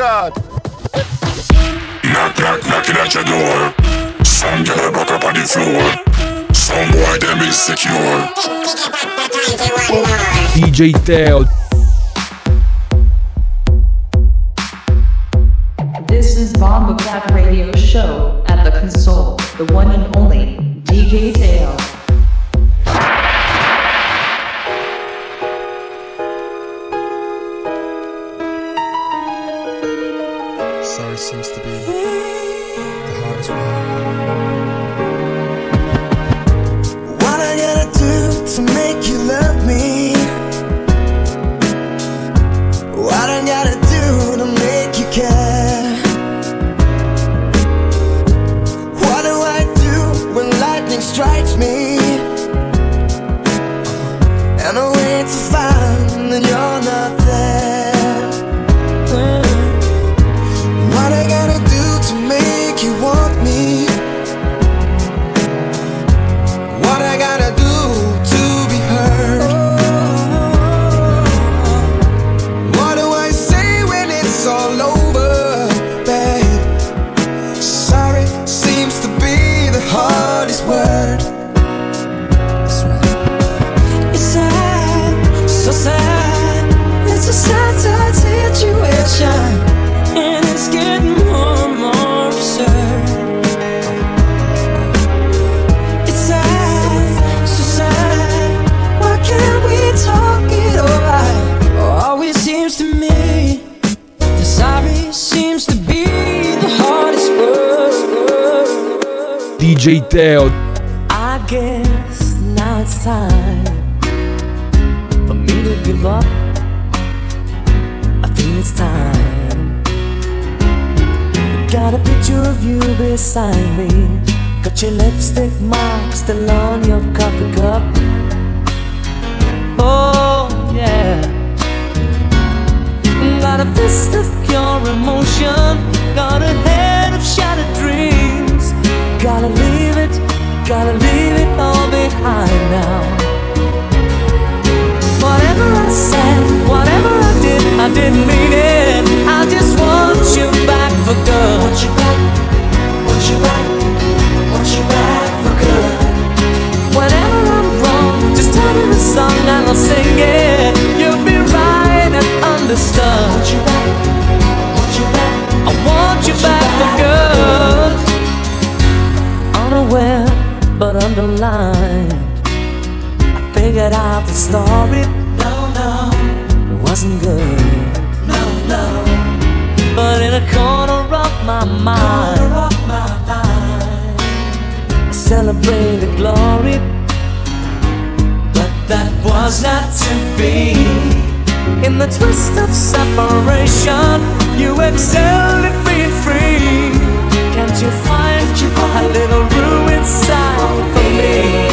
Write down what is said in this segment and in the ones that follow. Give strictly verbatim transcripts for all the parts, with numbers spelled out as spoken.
God. Knock, knock, knocking at your door. Some girl back up on the floor. Some boy them insecure. D J Teo. This is Bomba Cat Radio Show. At the console, the one and only D J Teo. Sorry seems to be the hardest one. What I gotta do to make you love me? What I gotta do to make you care? What do I do when lightning strikes me? And I wait to find that you're not there. What I gotta do to make you want me? What I gotta do to be heard? What do I say when it's all over, babe? Sorry seems to be the hardest word. It's sad, so sad. It's a sad, sad situation. And it's getting more and more absurd. It's sad, so sad. Why can't we talk it over? Oh, always seems to me the sorry seems to be the hardest word. D J Teo. I guess now it's time for me to give up. I feel it's time. Got a picture of you beside me. Got your lipstick mark still on your coffee cup. Oh yeah. Got a fist of pure emotion. Got a head of shattered dreams. Gotta leave it, gotta leave it all behind now. Whatever I said, whatever I did, I didn't mean it. I just want you back for good. Want you back, want you back, want you back for good. Whenever I'm wrong, just tell me the song and I'll sing it. You'll be right and understood. Want you back, want you back, I want you back for good. Unaware but underlined, I figured out the story. No, no, it wasn't good. No, no. But in a corner of my mind, corner of my mind, I celebrated glory. But that was not to be. In the twist of separation, you excelled at being free. Can't you find a little room inside for me?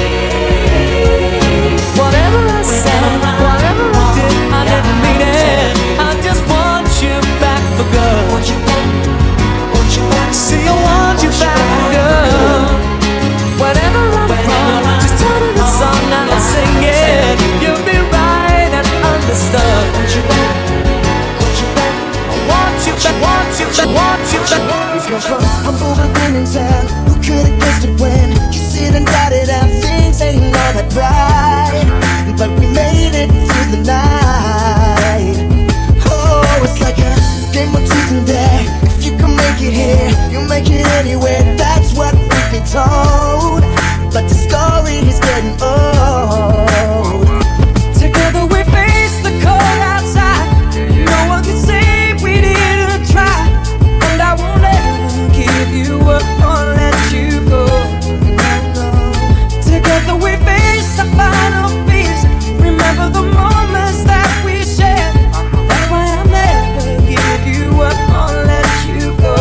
Whatever I said, whatever I did, I didn't mean it. I just want you back for good. Want you back, want you back. See, I want you back for good. Whenever I'm wrong, just tell me the song and I'll sing it. You'll be right and understood. Want you back, want you back. I want you back, want you back, want you back. We come from humble beginnings and who could've guessed it when you sit and doubted and things ain't all that bright. But we made it through the night. Oh, it's like a game of truth and dare. If you can make it here, you make it anywhere. That's what we've been told. But the story is getting old. Together we face the cold outside. No one can say we didn't try. And I won't ever give you up or let you go. Together we face the final feast. Remember the moments that we shared. That's why I'll never give you up or let you go.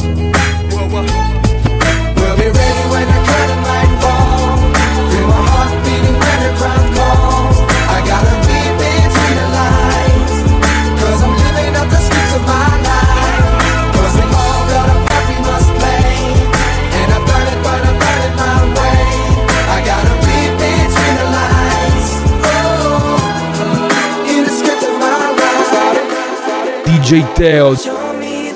We'll be ready when the curtain light falls. Feel my heart beating when the crowd calls. I gotta read between the lines, cause I'm living up the scripts of my life. Cause we all got a part we must play. And I burn it, burn it, burn it my way. I gotta read between the lines. Oh, in the script of my life. D J Teo. Show me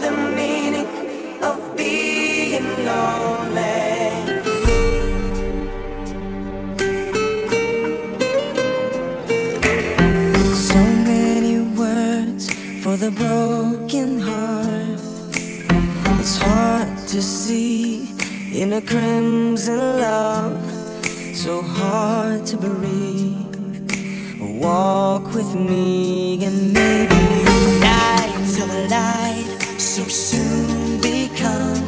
It's hard to see in a crimson love, so hard to breathe. Walk with me and maybe night till the light so soon become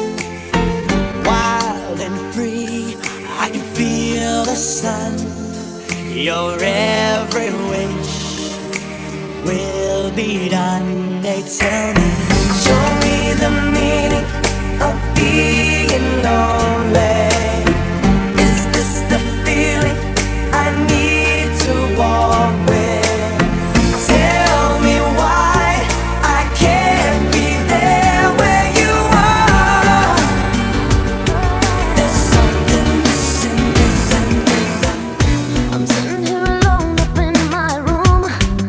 wild and free. I can feel the sun. Your every wish will be done. They tell me, show me the meaning of being lonely. Is this the feeling I need to walk with? Tell me why I can't be there where you are. There's something missing, missing, missing. I'm sitting here alone up in my room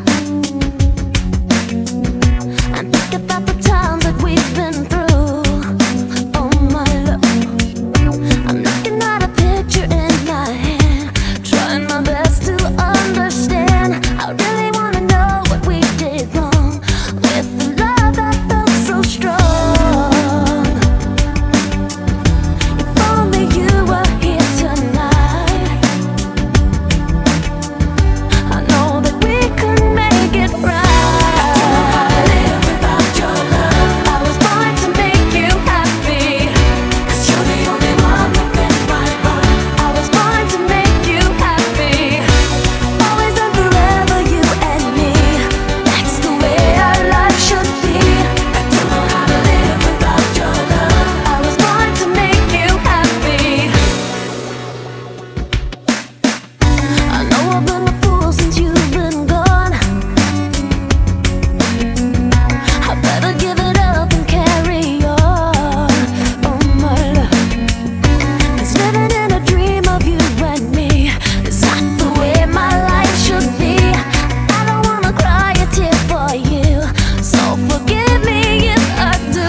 and think about the times that we've been through. Oh my love, I'm looking at a picture in my hand, trying my best to understand. I really wanna know what we did wrong with the love that felt so strong. If only you were here tonight, I know that we could make it right. I live without your love. I was born to make you happy, 'cause you're the only one within my heart. I was born to make you happy, always and forever, you and me. That's the way our life should be. I don't know how to live without your love. I was born to make you happy. I know I've been a fool since you've been gone. I better give it up and carry on. Oh my love, 'cause living in a dream of you and me is not the way my life should be. I don't wanna cry a tear for you, so forgive me if I do.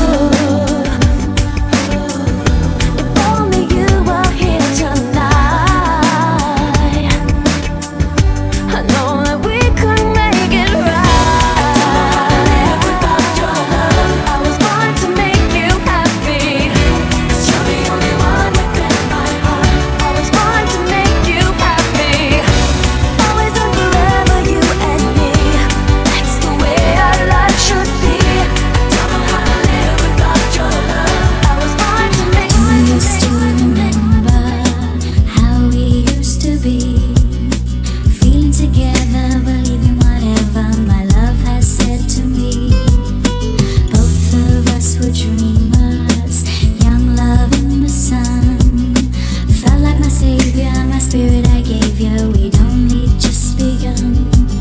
If only you were here tonight, I know that we could make it right. I live without your love. I was born to make you happy, 'cause you're the only one within my heart. I was born to make you happy, always and forever, you and me. That's the way our life should be. I don't know how to live without your love. I was born to make you I used to remember how we used to be, feeling together, believing whatever my love has said to me. Both of us were dreamers, young love in the sun. Felt like my savior, my spirit I gave you. We'd only just begun.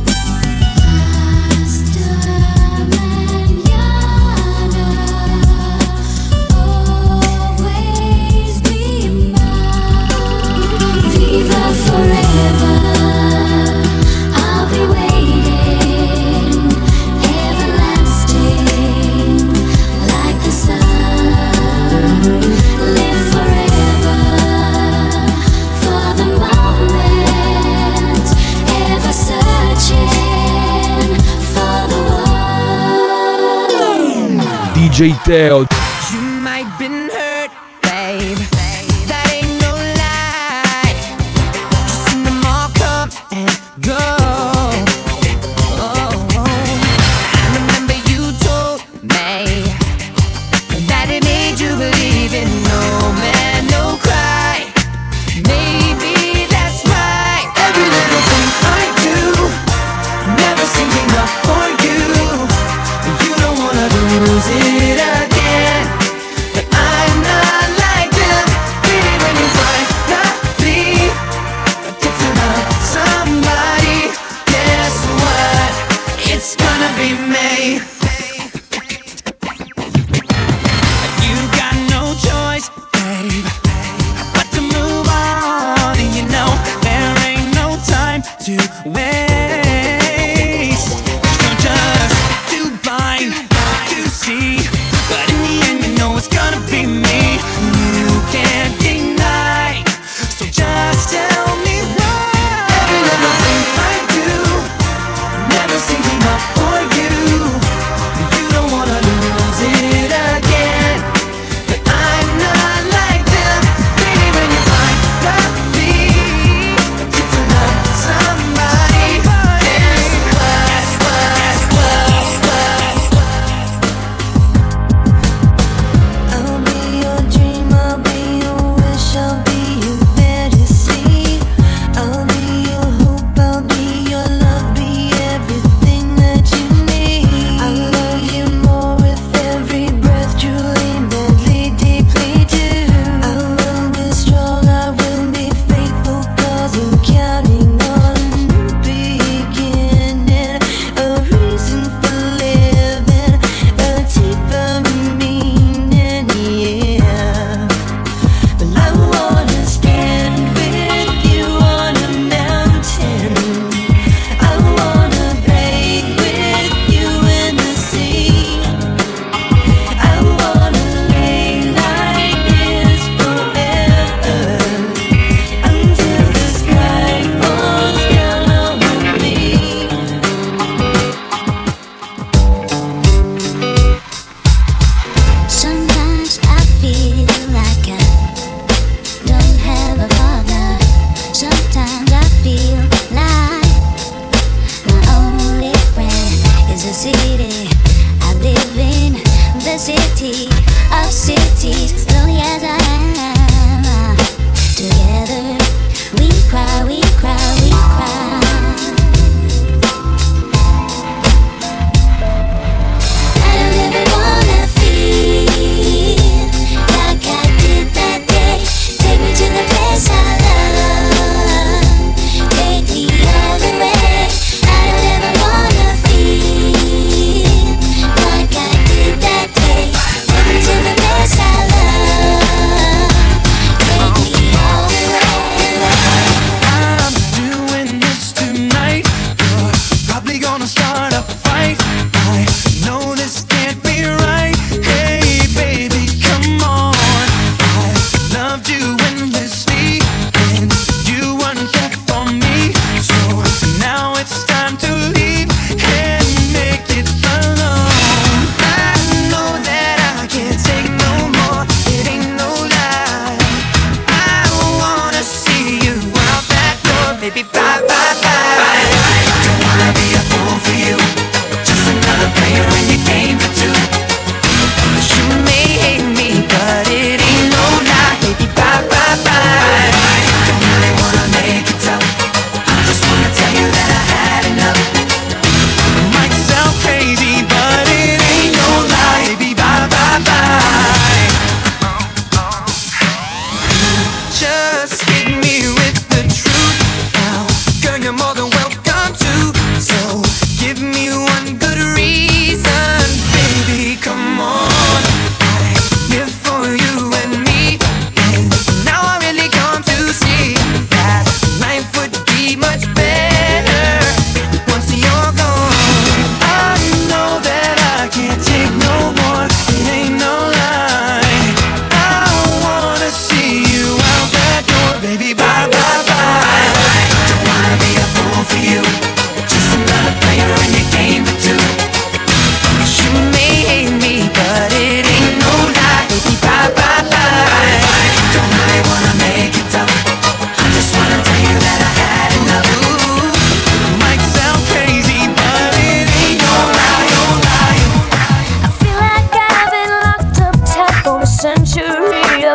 Faster and younger, always be mine. Viva forever, I'll be waiting, everlasting, like the sun. Live forever, for the moment, ever searching for the one. D J Teo. You might been hurt, babe. That ain't no lie. Just seen them all come and go. Oh, I remember you told me that it made you believe in no man, no cry. Maybe that's right. Every little thing I do never seems enough for you. You don't wanna lose it again, but I'm not like them.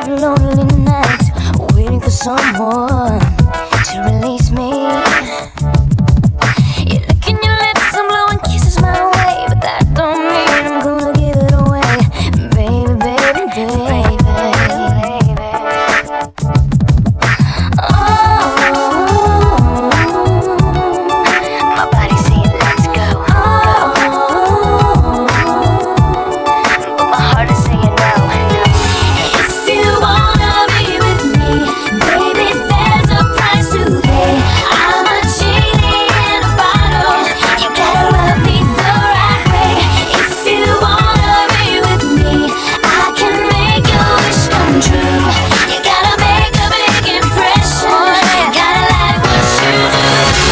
a lonely night, waiting for someone to release me. You look in your lips, I'm blowing kisses my way, but that don't mean I'm gonna give it away, baby, baby, baby. Oh, my body's saying let's go. Oh, but my heart is saying no. If you wanna be with me, baby, there's a price to pay. I'm a genie in a bottle. You gotta rub me the right way. If you wanna be with me, I can make your wish come true. You gotta make a big impression. Gotta like what you do.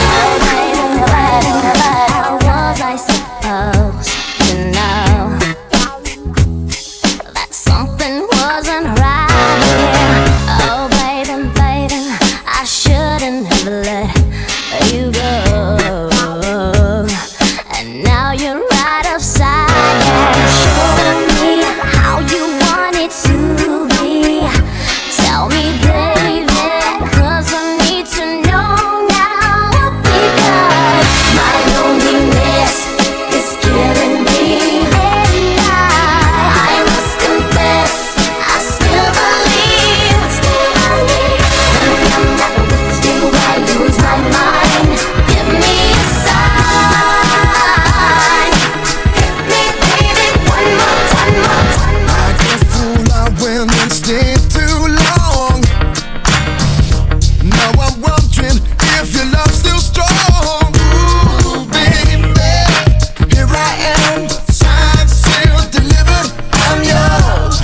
How was I supposed to know that something wasn't right here? Oh, baby, baby, I shouldn't have let you go. And now you're right upside down, showing me how you want it to be. Tell me, baby, 'cause I need to know now, because my loneliness is killing me. And I, I must confess, I still believe, still believe. When I'm not with you, I lose my mind. Give me a sign. Hit me, baby, one more time, more time, more I get fooled out when it stay too long. Now I'm wondering if your love's still strong. Ooh, baby, here I am, signed, sealed, delivered, I'm yours.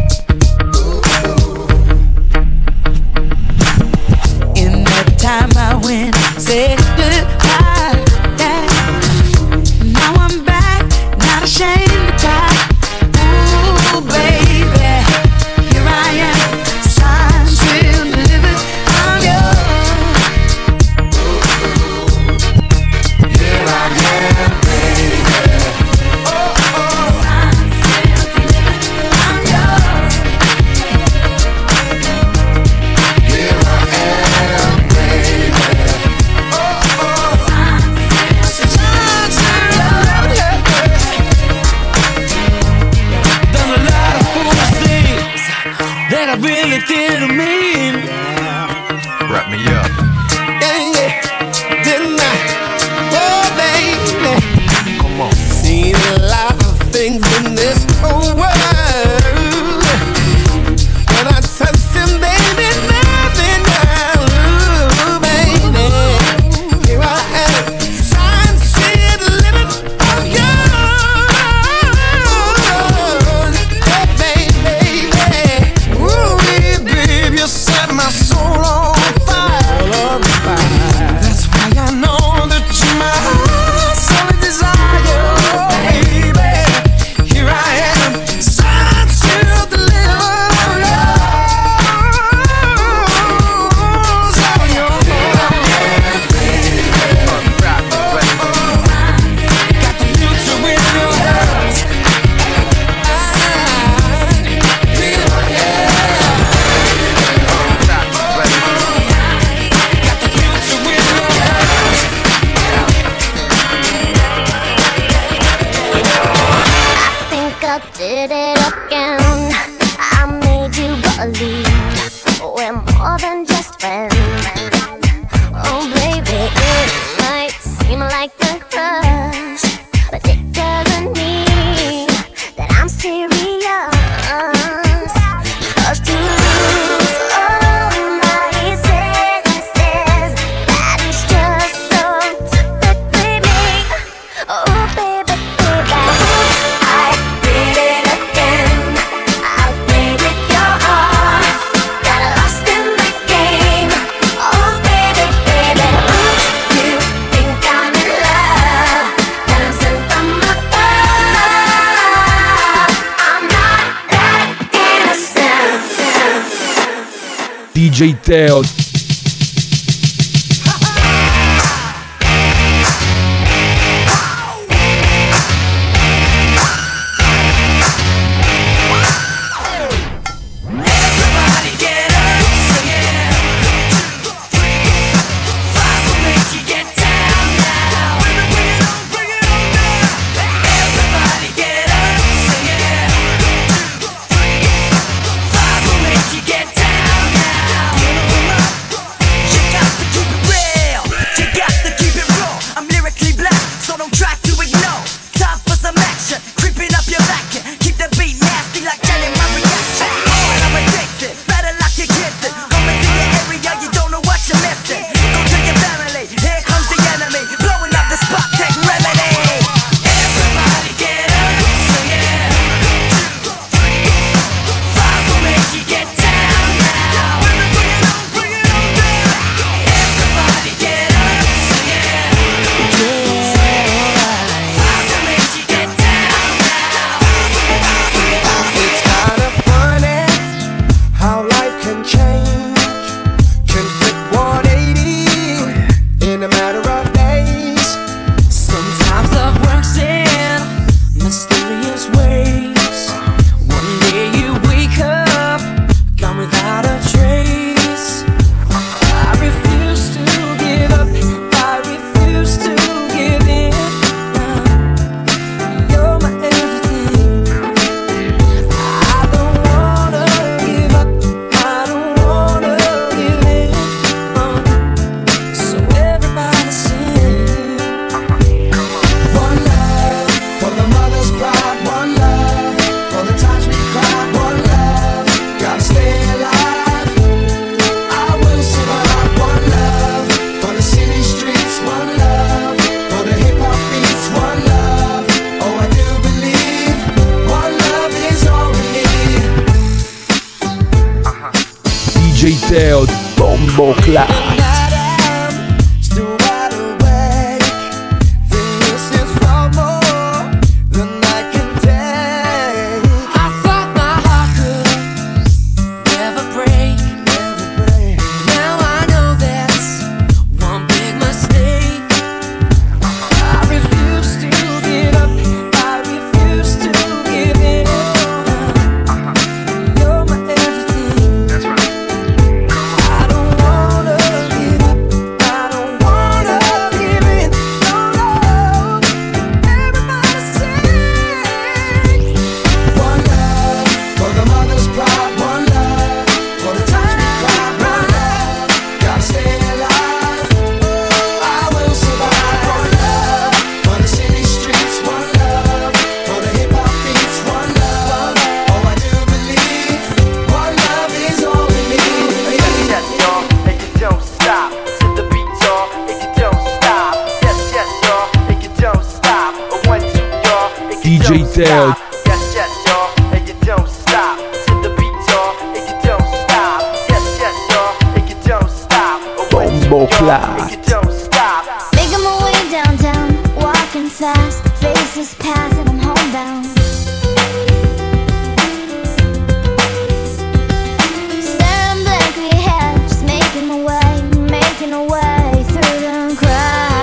In that time I went, said goodbye, yeah. Now I'm back, not ashamed to cry. Ooh, baby, here I am, signed, sealed, delivered, I'm yours. Here I am, baby. Oh, oh. Signed, sealed, delivered, I'm yours. Here I am, baby. Oh, oh. Signed, sealed, done a lot of foolish things that I really didn't mean. Wrap me up. Yeah, yeah, didn't I? Oh, baby. Come on. Seen a lot of things in this whole world. When I touch him, baby, nothing else. Ooh, baby, here I am, signed, sealed, delivered, I'm yours. Oh, baby, ooh, baby, you set my soul on fire. That's why I know that you're my solid desire, baby. Here I am, signed, sealed, delivered, I'm yours. I'm yours. Got the future in your hands. Here I am. Got the future in your hands. I think I did it again. I made you believe we're more than just friends. Oh, baby, it might seem like a crush, but it doesn't mean that I'm serious. 'Cause to lose all my senses, that is just so typically me. Oh, baby, baby, I did it again. I played with your heart, got lost in the game. Oh, baby, baby, oops, you think I'm in love, that I'm sent from above. I'm not that innocent. D J Teo. Everybody D J Teo, Bombo Clat. D J Teo. Yes, yes, y'all, and you don't stop. To the beat, y'all, and you don't stop. Yes, yes, y'all, and you don't stop. Bombo Clat. And you don't stop. Making my way downtown, walking fast, faces pass and I'm homebound. Staring blankly ahead, just making my way, making my way through the crowd.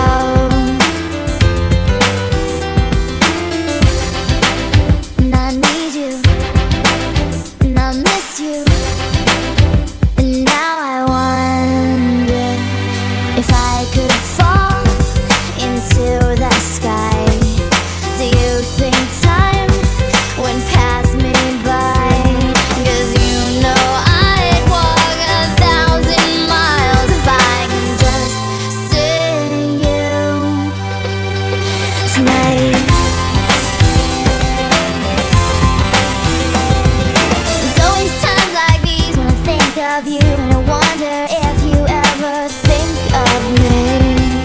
And I need you, and I miss you, and now I wonder if I could fall into the sky. Do you think time would pass me by? 'Cause you know I'd walk a thousand miles if I can just see you tonight. There's always times like these when I think of you, and I wonder if you ever think of me.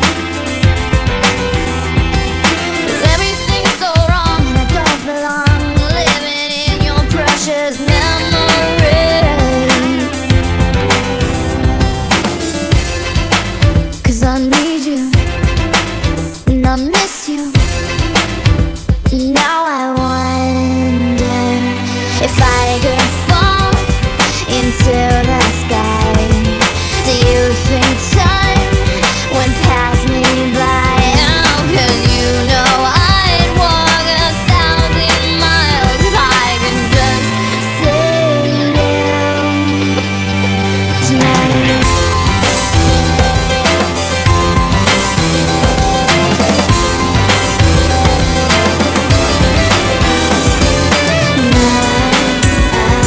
'Cause everything's so wrong and I don't belong living in your precious memory. 'Cause I need you and I miss you. Now I wonder if I could fall into the sky. Do you think time would pass me by? Oh, 'cause you know I'd walk a thousand miles if I could just see you tonight. Now I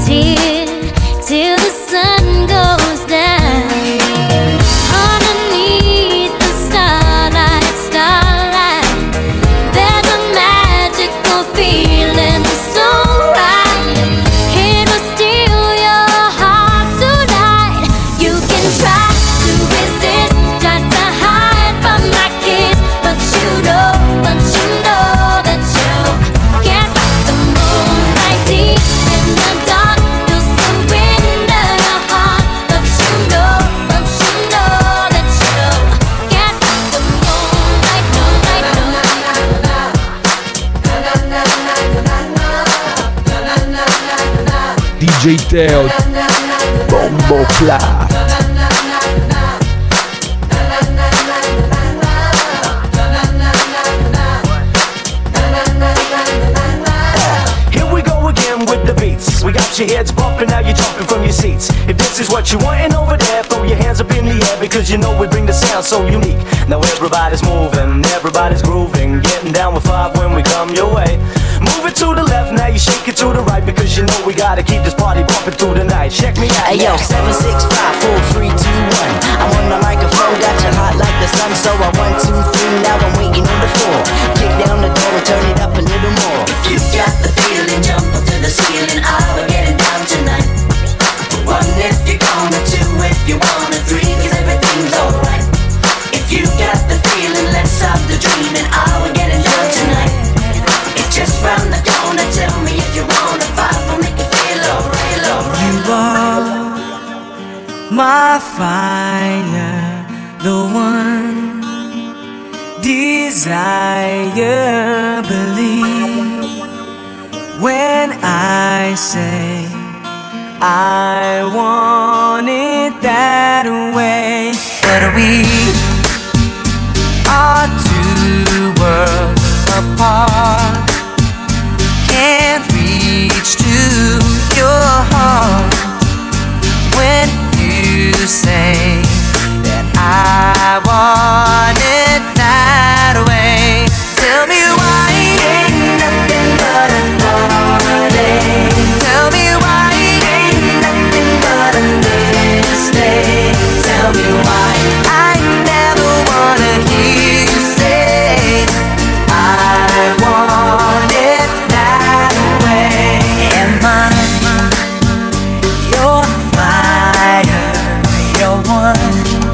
here till the sun goes down. Underneath the starlight, starlight, there's a magical feeling so right. It will steal your heart tonight. You can try to resist, try to hide from my kiss, but you know, but you know that you can't fight the moonlight deep in the dark. You'll surrender your heart, but you know, but you know that you can't fight the moonlight, moonlight, D J Teo, Bombo Clat. Here we go again with the beats. We got your heads bumping, now you're jumping from your seats. If this is what you wantin' over there, throw your hands up in the air, because you know we bring the sound so unique. Now everybody's moving, everybody's grooving, getting down with five when we come your way. Move it to the left, now you shake it to the right, because you know we gotta keep this party bumping through the night. Check me out. Hey yo, seven, six, five, four, three, two, one. I'm on the microphone, got you hot like the sun. So I one, two, three, now I'm waiting on the four. Kick down the door and turn it up a little more. If you got the feeling, jump up to the ceiling. Oh, we're getting down tonight. One if you're gonna, two if you wanna, three 'cause everything's alright. If you got the feeling, let's stop the dreaming. Oh, we're getting down tonight. It's just round the corner. Tell me if you wanna fight, we'll make it feel alright, alright. You are my fire, the one desire. Believe when I say I want it that way. But we are two worlds apart, can't reach to your heart when you say that I want it that way. Tell me why it ain't nothing but a heartache. Tell me why it ain't nothing but a mistake. Tell me why I never wanna hear you say I want it that way. Am I your fire, your one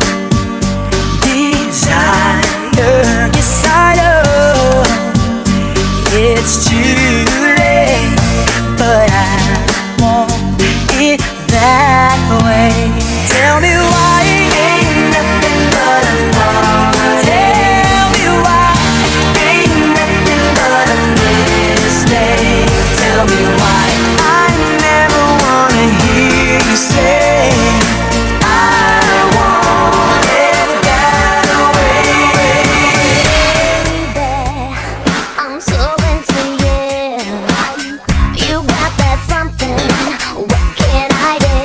desire? Yes, I know it's too late, but I want it that way. Tell me why it ain't nothing but a heart. Tell me why it ain't nothing but a mistake. Tell me why I never wanna hear you say I want it that way. baby, I'm so into you. You got that something. What can I do,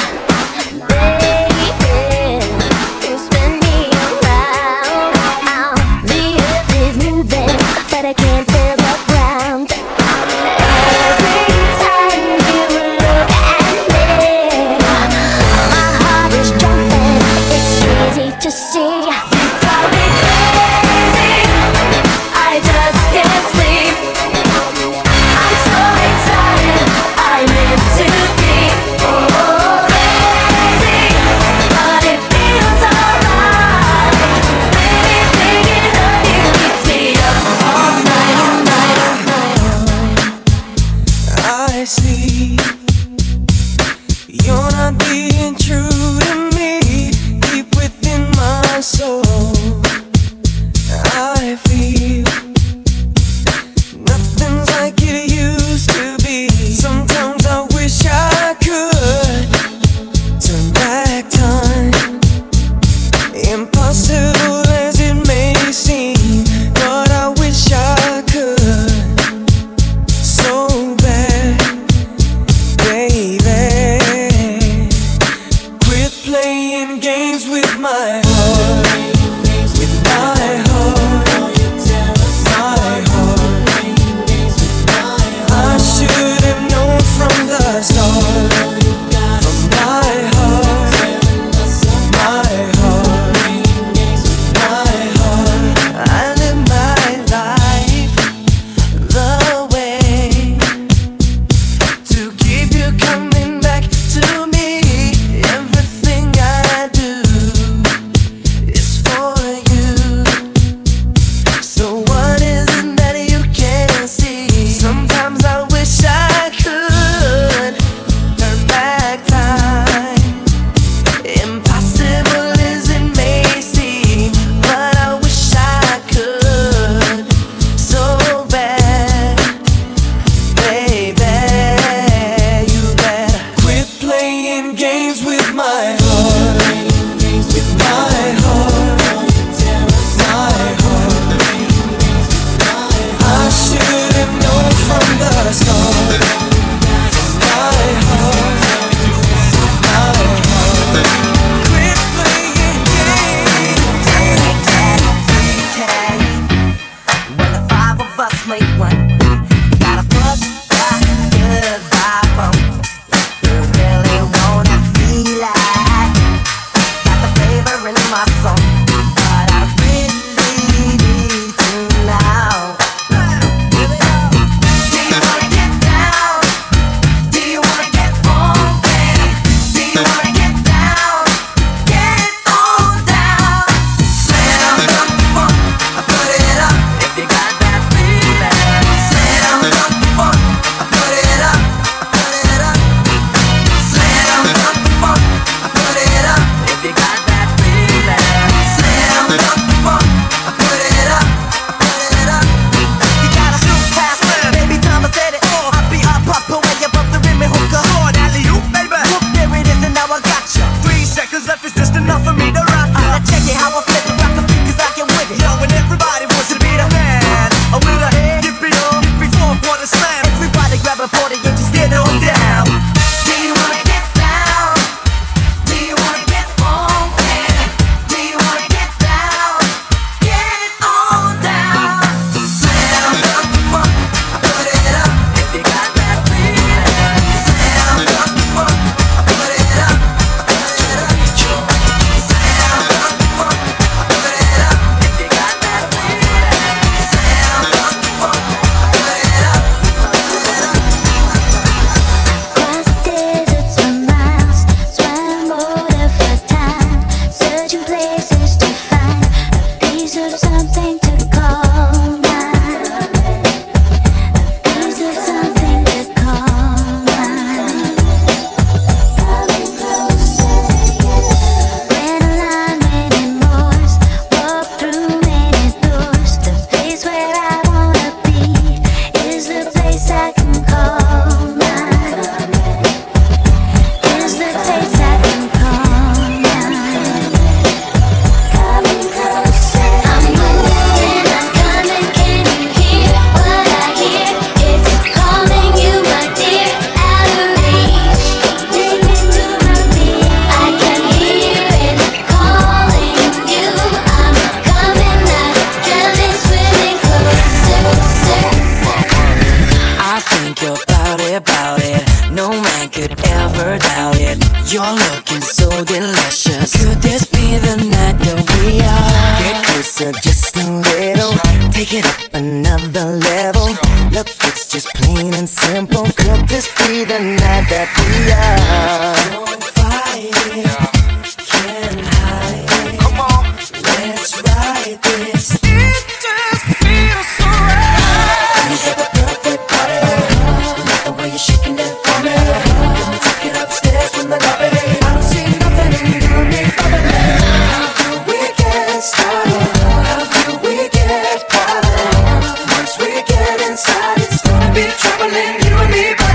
baby? You spin me around. The earth is moving, but I can't feel the ground. Every time you look at me, my heart is jumping. It's crazy to see. You drive me crazy. I just can't sleep. I'm so excited. I live to be oh, crazy, but it feels alright. Baby, thinking of you keeps me up all night, all night, all night. I see you're not being true to me. Deep within my soul, I feel nothing's like it used to be. Sometimes I wish I could turn back time. Impossible as it may seem, but I wish I could so bad, baby. ever doubt it? You're looking so delicious. Could this be the night that we are? Get closer just a little. Take it up another level. Look, it's just plain and simple. Could this be the night that we are? Don't fight it, can't hide it. Come on, let's ride this. It just feels so right. You got the perfect body. Like the way you're shaking that for me. Let me take it upstairs from the lobby. I don't see nothing in you and me, baby. How do we get started? How do we get started? Once we get inside, it's gonna be troubling you and me, baby.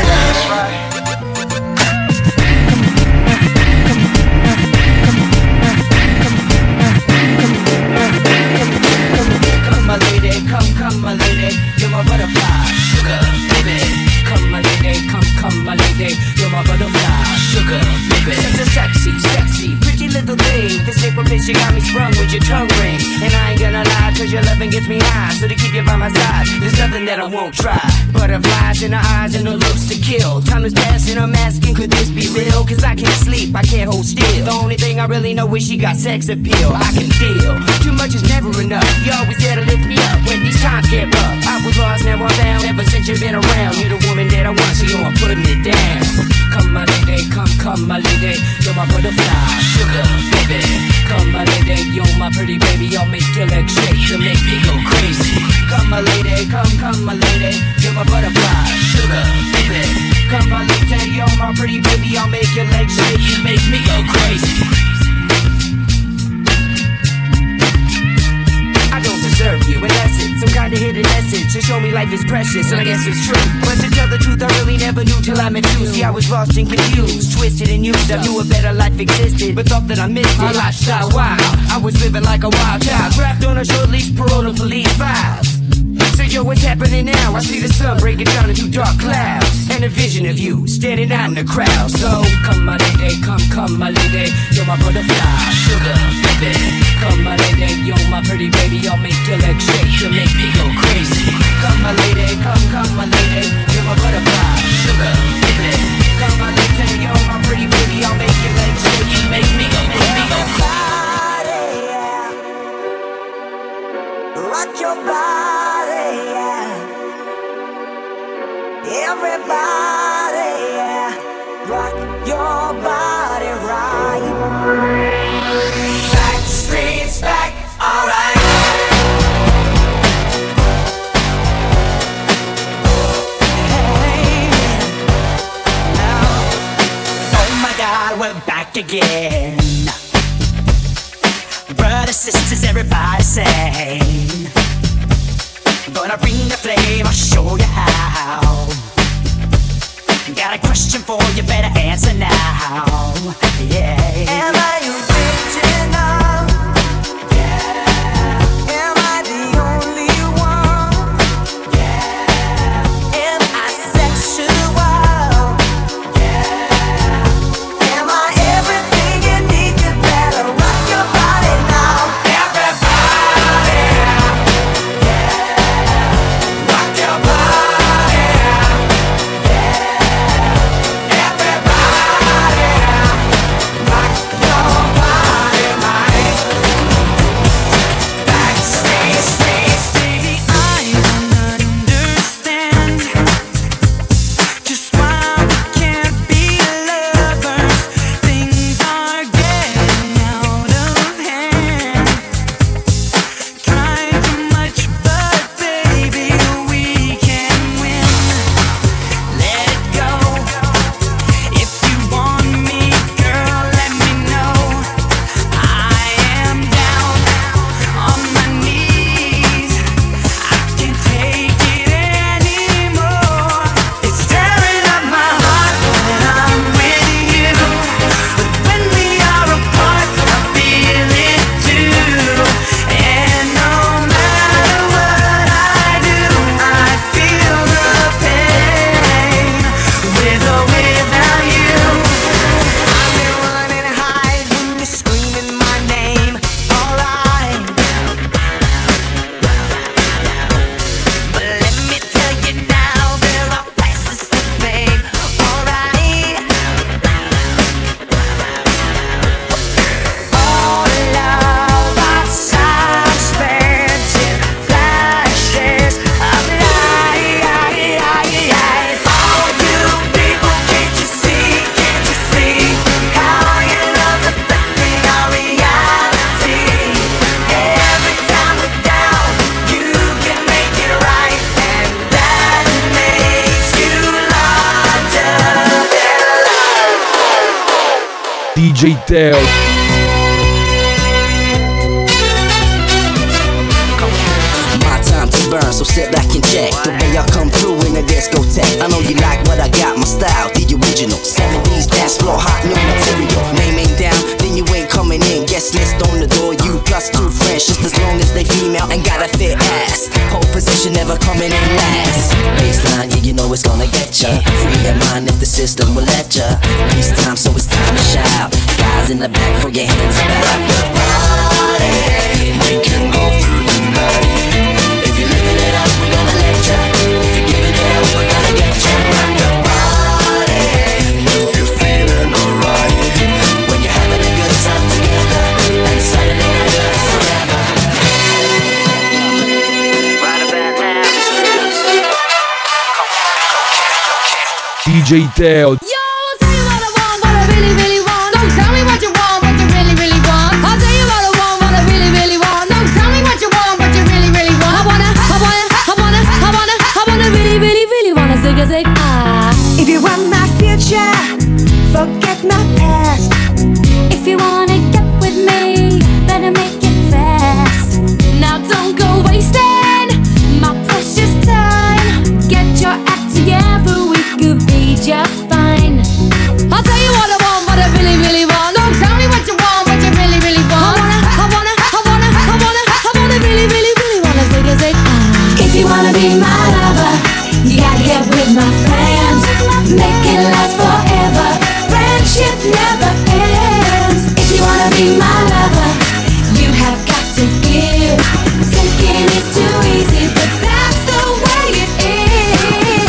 Come my lady, come, come my lady, you're my butterfly, sugar, baby. Come my lady, come, come my lady, you're my butterfly, sugar, baby. Such a sexy, sexy, pretty little thing. This April bitch, you got me sprung with your tongue ring. And I ain't gonna lie, cause your loving gets me high. So to keep you by my side, there's nothing that I won't try. Butterflies in her eyes and her looks to kill. Time is passing, I'm asking, could this be real? Cause I can't sleep, I can't hold still. The only thing I really know is she got sex appeal. I can feel, too much is never enough. You always there to lift me up when these times get rough. I was lost, now I'm found, ever since you've been around. You're the woman that I want, so you're putting it down. Come my lady, come, come my lady, you're my butterfly, sugar, baby. Come my lady, you're my pretty baby, I'll make your legs shake to make me go crazy. Come my lady, come, come my lady, you're my butterfly, sugar, baby. Come my lady, you're my pretty baby, I'll make your legs shake to make me go crazy. I don't deserve you unless it's some kind of hidden message to show me life is precious, and I guess it's true. But to tell the truth, I really never knew till I met you. See, I was lost and confused, twisted and used. I knew a better life existed, but thought that I missed it. My lifestyle wild, I was living like a wild child, trapped on a short leash, parole to police files. So yo, what's happening now? I see the sun breaking down into dark clouds, and a vision of you standing out in the crowd. So come my lady, come, come my lady, you're my butterfly, sugar, baby. Come my lady, you're my pretty baby, I'll make your legs shake to make me go crazy. Come my lady, come, come my lady, you're my butterfly, sugar, baby. Come my lady, you're my pretty baby, I'll make your legs shake to make me go, make me go crazy. Rock your body, yeah. Everybody, yeah. Rock your body right. Back streets back, alright. Hey, now, oh my God, we're back again. Brothers, sisters, everybody sing. Gonna bring the flame, I'll show you how. Got a question for you, better answer now. Yeah. Am I original? Yeah. Am I the only one? Yeah. Am I sexual? Yeah. Am I everything you need? You better rock your body now. Everybody, yeah. Rock your body, yeah. Everybody, rock D J Teo. My time to burn, so sit back and check the way I come through in the discotheque. I know you like what I got, my style, the original seventies dance floor, hot new material. Name ain't down, then you ain't coming in. Guest list on the door, you plus two friends, just as long as they female and got a fit ass. Pole position never coming in last. Baseline, yeah, you know it's gonna get ya. Free your mind if the system will let ya. Peace time, so it's time to shout. Guys in the back, throw your hands about the party. We can go through the night. If you're living it up, we gonna let ya. If you're giving it up, we're gonna get ya. Rock the party. If you're feeling alright, when you're having a good time together, and Saturday night is forever. Right about now, D J Teo. Yo, I'll tell you what I want, what I really, really want. Don't tell me what you want, what you really, really want. I'll tell you what I want, what I really, really want. Don't tell me what you want, what you really, really want. I wanna, I wanna, I wanna, I wanna, I wanna really, really, really wanna zig a zig ah. If you want my future, forget my past. If you wanna get with me, better make it fast. Now don't go wasting my precious time. Get your act together, we could be just fine. I'll tell you what I want, what I really, really want. Don't tell me what you want, what you really, really want. I wanna, I wanna, I wanna, I wanna, I wanna really, really, really wanna zig a zig ah. If you wanna be my lover, you gotta get with my friends. Make it last forever. Friendship never ends. If you wanna be my lover, you have got to give. Thinking is too easy, but that's the way it is.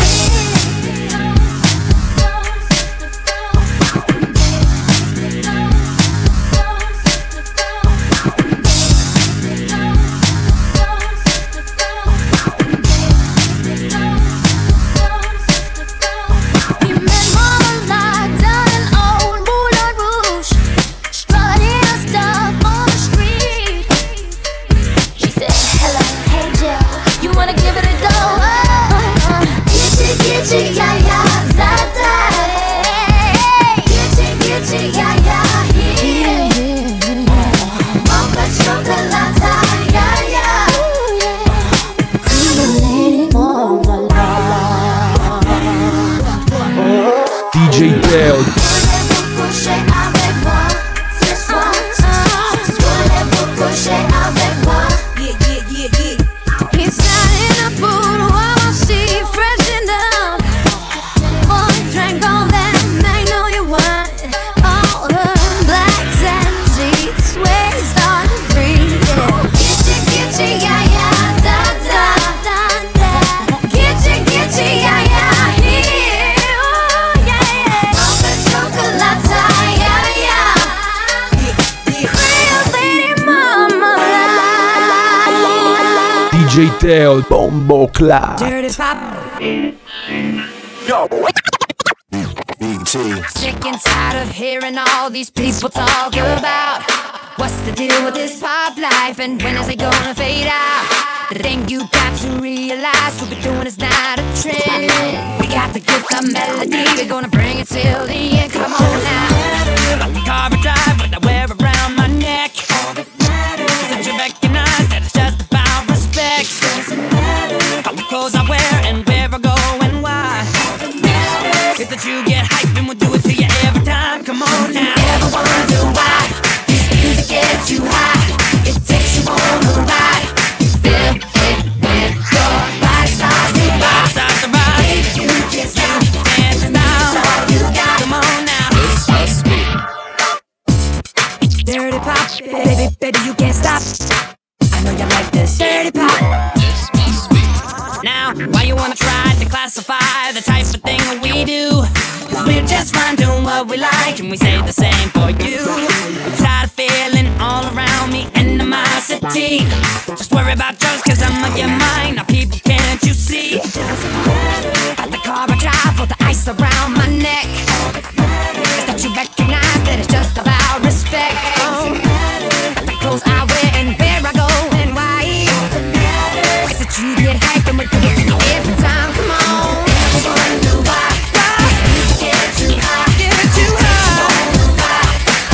He met Mama Light down in old Moulin Rouge, strutting her stuff on the street. She said, hello, hey Jill, you wanna give it a go? Gitchy, gitchy, yeah, yeah, zata. Gitchy, gitchy, yeah, yeah, yeah. Mocha chocolata, yeah, yeah. Lady Mama D J Teo. coucher avec moi ce soir. Voulez-vous coucher avec moi? Yeah, yeah, yeah, yeah. He sat in a pool while she freshened up. Boy drank all that magnolia wine. All her blacks and sheets sways on free. Gitchy, gitchy, yeah, yeah, da, da, da, da. Gitchy, gitchy, yeah, yeah, here. Oh, yeah, yeah. Mocha chocolata, yeah, yeah. Real lady mama life. D J Teo. Bombo Club. Dirty pop. Sick and tired of hearing all these people talk about what's the deal with this pop life and when is it gonna fade out. The thing you got to realize, what we're doing is not a trend. We got the gift of melody, we're gonna bring it till the end. Come on now. Like the car I drive, what I wear around my neck. That you recognize that it's just about respect. All the clothes I wear and where I go and why. Is that you get hype and we'll do it to you every time. Come on now. Ever wonder why this music gets you high? It takes you on a ride. You feel it when your body starts to rock. Starts to rock. Baby, you can't stop. Dance now. It's all you got. Come on now. This must be. Dirty pop, baby, baby, you can't stop. I know you like this. Dirty pop. Now, why you wanna try to classify the type of thing that we do? 'Cause we're just fine doing what we like, and we say the same for you. I'm tired of feeling all around me animosity. Just worry about yours, 'cause I'm on your mind. Now, people, can't you see? At the car I drive with the ice around my neck. Is that you recognize that it's just about respect? Oh. At the clothes I wear and where I go and why. Is that you get hype and we do it to you every time? Come on. Never wonder why. This music gets too high. Get too high.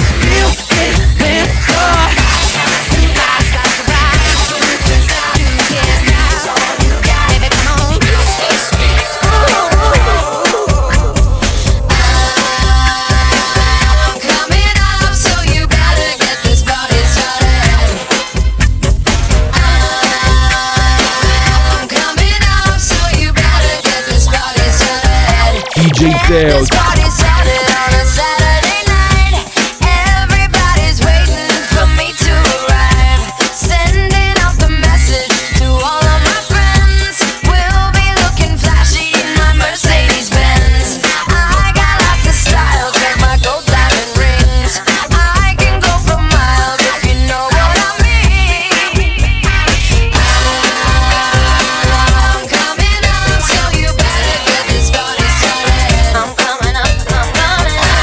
Teo. This party started on a Saturday night. Everybody's waiting for me to arrive. Sending out the message to all of my friends. We'll be looking flashy in my Mercedes Benz. I got lots of style, check my gold diamond rings. I can go for miles if you know what I mean. I'm coming up, so you better get this party started. I'm coming up, I'm coming up.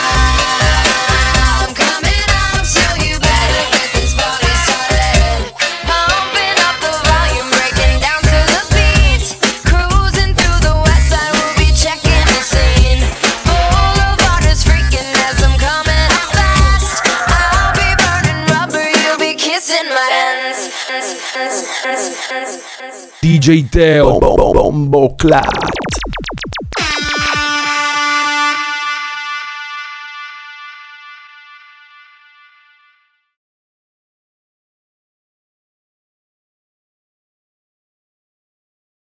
I'm coming up, so you better get this party started. Pumping up the volume, breaking down to the beat. Cruising through the west side, we'll be checking the scene. Boulevard is freaking as I'm coming up fast. I'll be burning rubber, you'll be kissing my hands. D J Teo Bombo Clap.